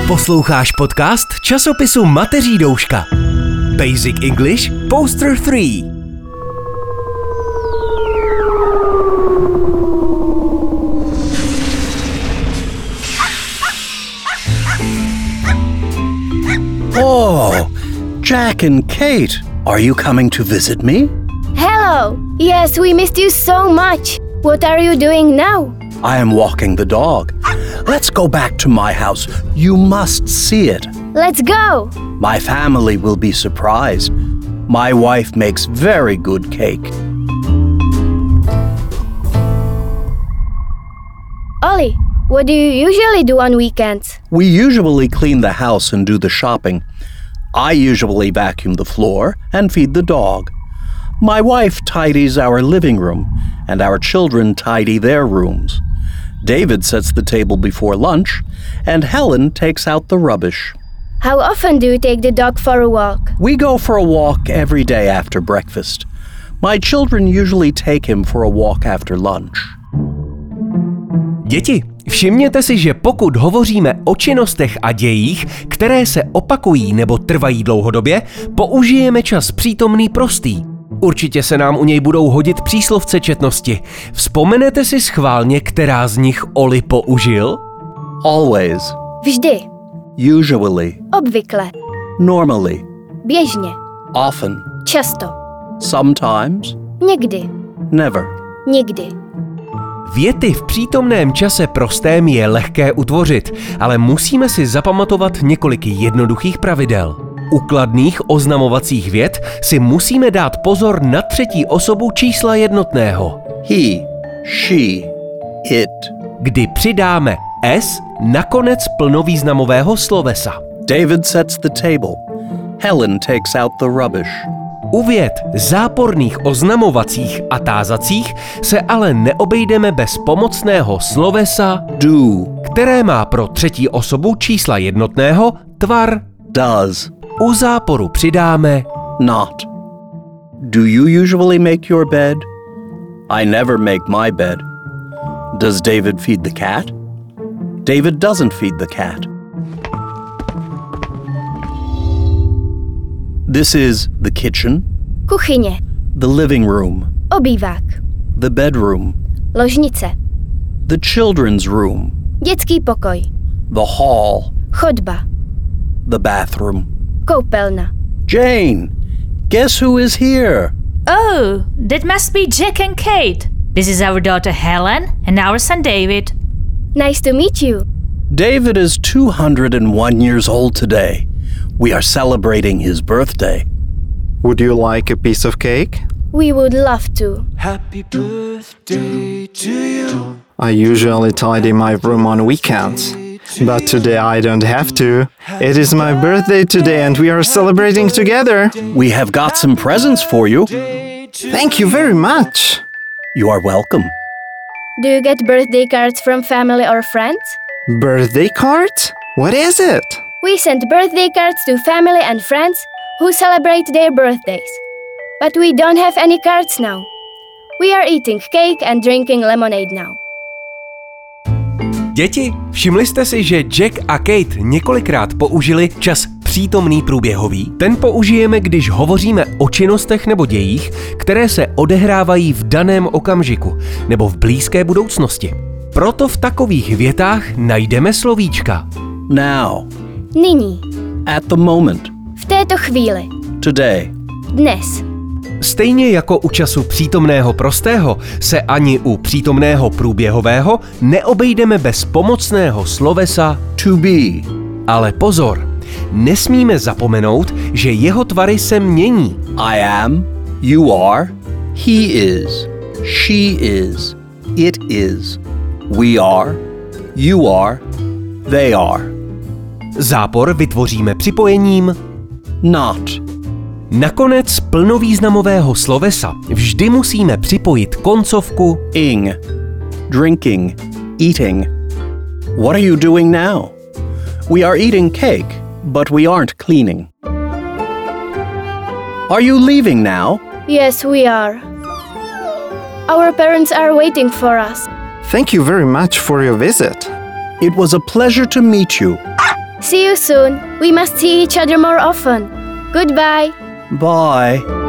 Posloucháš podcast časopisu Mateří douška. Basic English Poster 3. Oh, Jack and Kate, are you coming to visit me? Hello! Yes, we missed you so much. What are you doing now? I am walking the dog. Let's go back to my house. You must see it. Let's go! My family will be surprised. My wife makes very good cake. Ollie, what do you usually do on weekends? We usually clean the house and do the shopping. I usually vacuum the floor and feed the dog. My wife tidies our living room, and our children tidy their rooms. David sets the table before lunch, and Helen takes out the rubbish. How often do you take the dog for a walk? We go for a walk every day after breakfast. My children usually take him for a walk after lunch. Děti, všimněte si, že pokud hovoříme o činnostech a dějích, které se opakují nebo trvají dlouhodobě, použijeme čas přítomný prostý. Určitě se nám u něj budou hodit příslovce četnosti. Vzpomenete si schválně, která z nich Oli použil? Always. Vždy. Usually. Obvykle. Normally. Běžně. Often. Často. Sometimes. Někdy. Never. Nikdy. Věty v přítomném čase prostém je lehké utvořit, ale musíme si zapamatovat několik jednoduchých pravidel. U kladných oznamovacích vět si musíme dát pozor na třetí osobu čísla jednotného. He, she, it. Kdy přidáme s na konec plnovýznamového slovesa. David sets the table. Helen takes out the rubbish. U vět záporných oznamovacích a tázacích se ale neobejdeme bez pomocného slovesa Do, které má pro třetí osobu čísla jednotného tvar. does. U záporu přidáme Not. Do you usually make your bed? I never make my bed. Does David feed the cat? David doesn't feed the cat. This is the kitchen, Kuchyně. the living room, Obývák. the bedroom, Ložnice. the children's room, Dětský pokoj. the hall, Chodba. the bathroom. Koupelna. Jane, guess who is here? Oh, that must be Jack and Kate. This is our daughter Helen and our son David. Nice to meet you. David is 201 years old today. We are celebrating his birthday. Would you like a piece of cake? We would love to. Happy birthday to you. I usually tidy my room on weekends, but today I don't have to. It is my birthday today and we are celebrating together. We have got some presents for you. Thank you very much. You are welcome. Do you get birthday cards from family or friends? Birthday cards? What is it? We send birthday cards to family and friends who celebrate their birthdays. But we don't have any cards now. We are eating cake and drinking lemonade now. Děti, všimli jste si, že Jack a Kate několikrát použili čas přítomný průběhový? Ten použijeme, když hovoříme o činnostech nebo dějích, které se odehrávají v daném okamžiku nebo v blízké budoucnosti. Proto v takových větách najdeme slovíčka. Now. Nyní. At the moment. V této chvíli. Today. Dnes. Stejně jako u času přítomného prostého se ani u přítomného průběhového neobejdeme bez pomocného slovesa To be. ale pozor, nesmíme zapomenout, že jeho tvary se mění. I am. You are. He is. She is. It is. We are. You are. They are. Zápor vytvoříme připojením Not. nakonec plnovýznamového slovesa vždy musíme připojit koncovku Ing. Drinking. Eating. What are you doing now? We are eating cake, but we aren't cleaning. Are you leaving now? Yes, we are. Our parents are waiting for us. Thank you very much for your visit. It was a pleasure to meet you. See you soon. We must see each other more often. Goodbye. Bye.